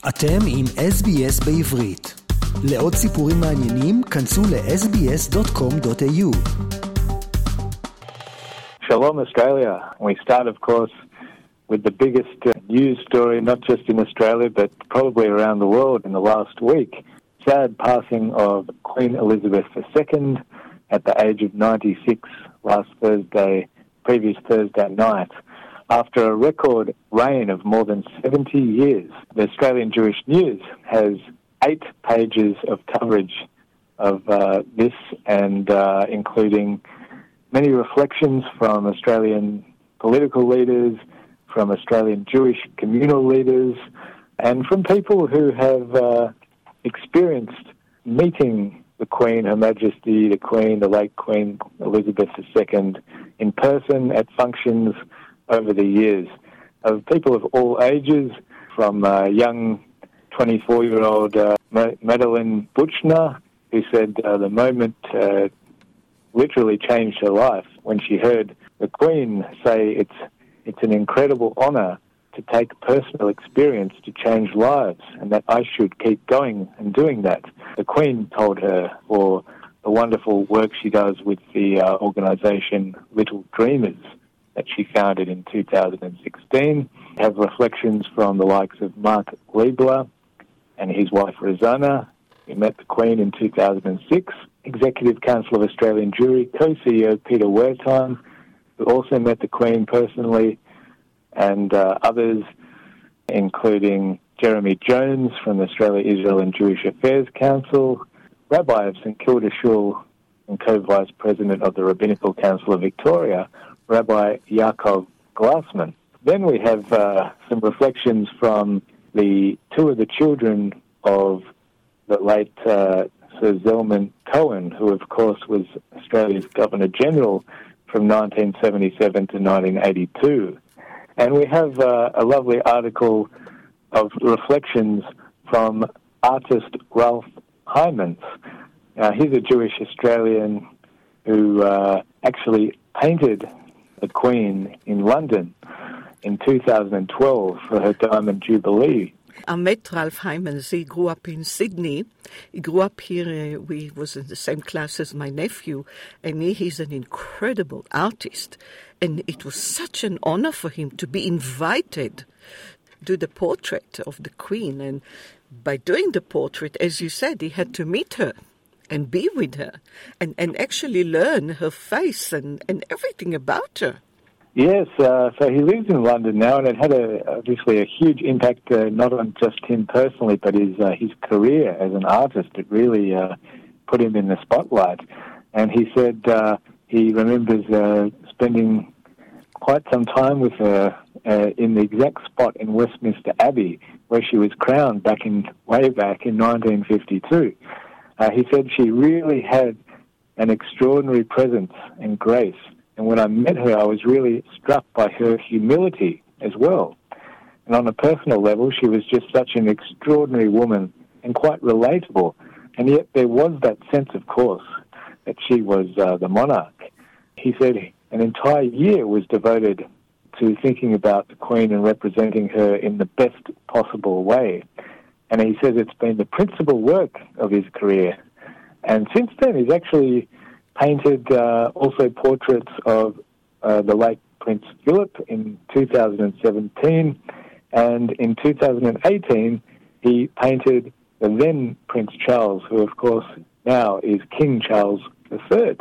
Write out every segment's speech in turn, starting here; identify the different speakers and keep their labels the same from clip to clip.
Speaker 1: אתם עם SBS בעברית. לעוד סיפורים מעניינים, כנסו ל-sbs.com.au.
Speaker 2: Shalom Australia. We start, of course, with the biggest news story, not just in Australia, but probably around the world in the last week. Sad passing of Queen Elizabeth II at the age of 96 previous Thursday night. After a record reign of more than 70 years, the Australian Jewish News has 8 pages of coverage of this, and including many reflections from Australian political leaders, from Australian Jewish communal leaders, and from people who have experienced meeting the Queen, Her Majesty, the Queen, the late Queen Elizabeth II, in person at functions over the years, of people of all ages, from young 24-year-old Madeleine Buchner, who said the moment literally changed her life when she heard the Queen say it's an incredible honour to take personal experience to change lives, and that I should keep going and doing that. The Queen told her for the wonderful work she does with the organisation Little Dreamers that she founded in 2016. We have reflections from the likes of Mark Liebler and his wife Rosanna, who met the Queen in 2006, Executive Council of Australian Jewry co-CEO Peter Wertheim, who also met the Queen personally, and others, including Jeremy Jones from the Australia, Israel and Jewish Affairs Council, Rabbi of St Kilda Shul and co-vice president of the Rabbinical Council of Victoria, Rabbi Yaakov Glassman. Then we have some reflections from the two of the children of the late Sir Zelman Cohen, who of course was Australia's Governor-General from 1977 to 1982. And we have a lovely article of reflections from artist Ralph Hymans. He's a Jewish Australian who actually painted the Queen in London in 2012 for her Diamond Jubilee.
Speaker 3: I met Ralph Hymans. He grew up in Sydney. He grew up here. We was in the same class as my nephew, and he's an incredible artist. And it was such an honor for him to be invited to do the portrait of the Queen. And by doing the portrait, as you said, he had to meet her and be with her and actually learn her face and everything about her.
Speaker 2: Yes, so he lives in London now, and it had obviously a huge impact not on just him personally, but his career as an artist. It really put him in the spotlight. And he said he remembers spending quite some time with her in the exact spot in Westminster Abbey where she was crowned way back in 1952. He said she really had an extraordinary presence and grace. And when I met her, I was really struck by her humility as well. And on a personal level, she was just such an extraordinary woman and quite relatable. And yet there was that sense, of course, that she was the monarch. He said an entire year was devoted to thinking about the Queen and representing her in the best possible way. And he says it's been the principal work of his career. And since then, he's actually painted also portraits of the late Prince Philip in 2017. And in 2018, he painted the then Prince Charles, who, of course, now is King Charles III.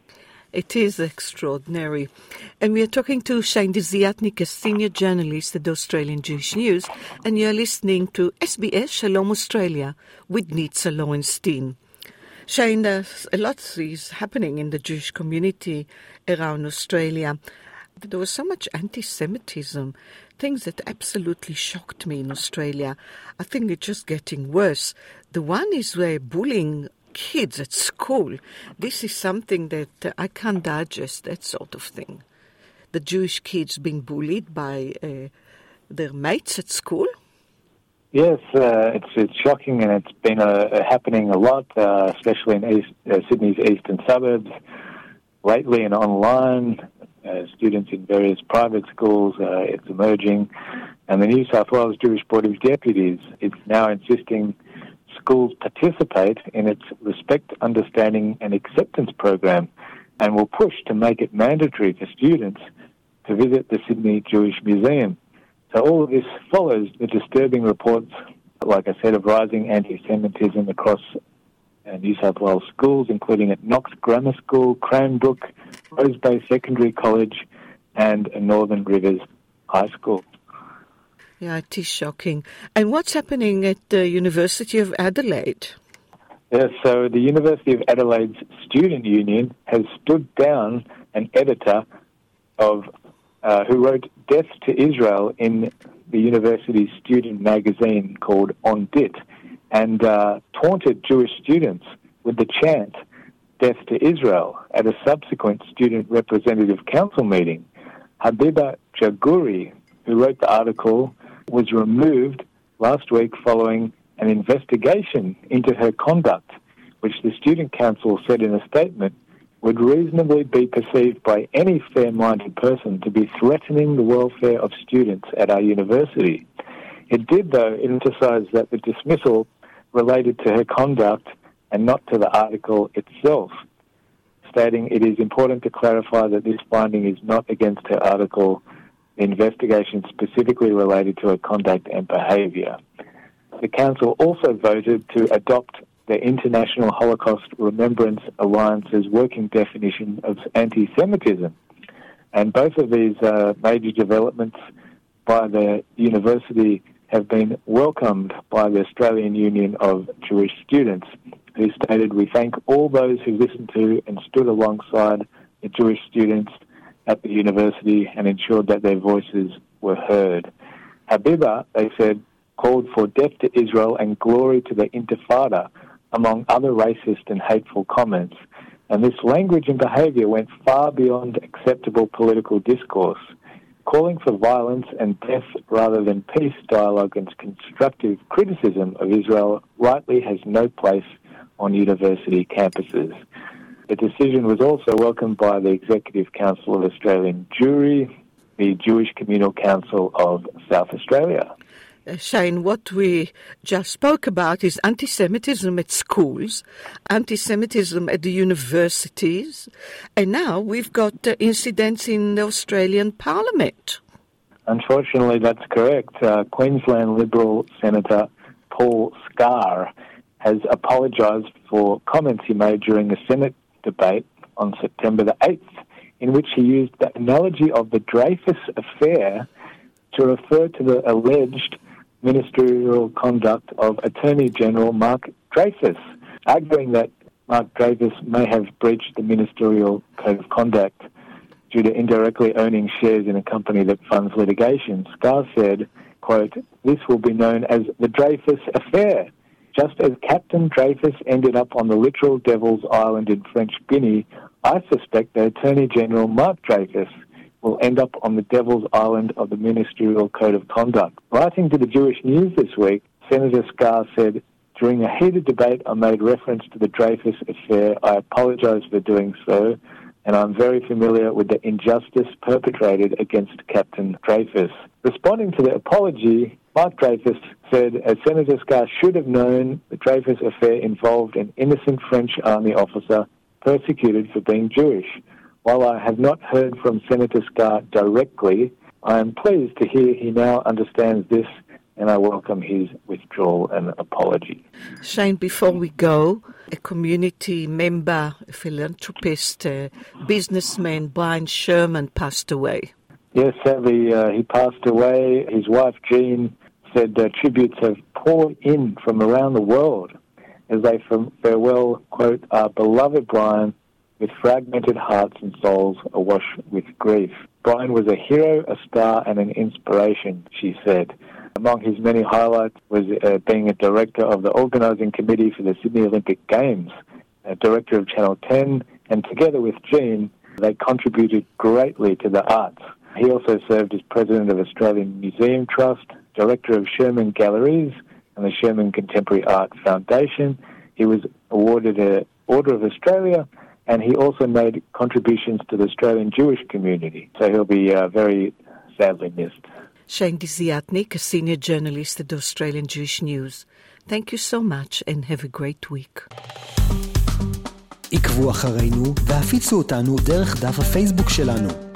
Speaker 3: It is extraordinary. And we are talking to Shane Desiatnik, a senior journalist at the Australian Jewish News, and you're listening to SBS Shalom Australia with Nitza Lowenstein. Shane, a lot is happening in the Jewish community around Australia. There was so much anti-Semitism, things that absolutely shocked me in Australia. I think it's just getting worse. The one is where bullying kids at school. This is something that I can't digest, that sort of thing. The Jewish kids being bullied by their mates at school.
Speaker 2: Yes, it's shocking, and it's been happening a lot, especially in Sydney's eastern suburbs lately and online. Students in various private schools, it's emerging. And the New South Wales Jewish Board of Deputies is now insisting schools participate in its Respect, Understanding and Acceptance program, and will push to make it mandatory for students to visit the Sydney Jewish Museum. So all of this follows the disturbing reports, like I said, of rising anti-Semitism across New South Wales schools, including at Knox Grammar School, Cranbrook, Rose Bay Secondary College, and Northern Rivers High School.
Speaker 3: Yeah, it is shocking. And what's happening at the University of Adelaide?
Speaker 2: Yes, so the University of Adelaide's Student Union has stood down an editor of who wrote Death to Israel in the university's student magazine called On Dit, and taunted Jewish students with the chant, Death to Israel, at a subsequent Student Representative Council meeting. Habiba Jaguri, who wrote the article, was removed last week following an investigation into her conduct, which the Student Council said in a statement would reasonably be perceived by any fair-minded person to be threatening the welfare of students at our university. It did, though, emphasize that the dismissal related to her conduct and not to the article itself, stating it is important to clarify that this finding is not against her article, the investigation specifically related to her conduct and behaviour. The Council also voted to adopt the International Holocaust Remembrance Alliance's working definition of anti-Semitism. And both of these major developments by the university have been welcomed by the Australian Union of Jewish Students, who stated, "We thank all those who listened to and stood alongside the Jewish students at the university and ensured that their voices were heard." Habiba, they said, called for death to Israel and glory to the Intifada, among other racist and hateful comments. And this language and behaviour went far beyond acceptable political discourse. Calling for violence and death rather than peace, dialogue and constructive criticism of Israel rightly has no place on university campuses. The decision was also welcomed by the Executive Council of Australian Jewry, the Jewish Communal Council of South Australia.
Speaker 3: Shane, what we just spoke about is anti-Semitism at schools, anti-Semitism at the universities, and now we've got incidents in the Australian Parliament.
Speaker 2: Unfortunately, that's correct. Queensland Liberal Senator Paul Scar has apologised for comments he made during a Senate debate on September the 8th, in which he used the analogy of the Dreyfus affair to refer to the alleged ministerial conduct of Attorney General Mark Dreyfus, arguing that Mark Dreyfus may have breached the ministerial code of conduct due to indirectly owning shares in a company that funds litigation. Scar said, quote, "This will be known as the Dreyfus affair. Just as Captain Dreyfus ended up on the literal Devil's Island in French Guinea, I suspect that Attorney General Mark Dreyfus will end up on the Devil's Island of the Ministerial Code of Conduct." Writing to the Jewish News this week, Senator Scar said, "During a heated debate, I made reference to the Dreyfus affair. I apologise for doing so, and I'm very familiar with the injustice perpetrated against Captain Dreyfus." Responding to the apology, Mark Dreyfus said, Senator Scar should have known the Dreyfus affair involved an innocent French army officer persecuted for being Jewish. While I have not heard from Senator Scar directly, I am pleased to hear he now understands this, and I welcome his withdrawal and apology.
Speaker 3: Shane, before we go, a community member, a philanthropist, a businessman, Brian Sherman, passed away.
Speaker 2: Yes, sadly, he passed away. His wife, Jean, said tributes have poured in from around the world as they farewell, quote, "our beloved Brian, with fragmented hearts and souls awash with grief. Brian was a hero, a star, and an inspiration," she said. Among his many highlights was being a director of the organising committee for the Sydney Olympic Games, a director of Channel 10, and together with Jean, they contributed greatly to the arts. He also served as president of Australian Museum Trust, director of Sherman Galleries and the Sherman Contemporary Art Foundation. He was awarded an Order of Australia, and he also made contributions to the Australian Jewish community. So he'll be very sadly missed.
Speaker 3: Shane Desiatnik, a senior journalist at the Australian Jewish News. Thank you so much and have a great week.
Speaker 1: עקבו אחרינו והפיצו אותנו דרך דף הפייסבוק שלנו.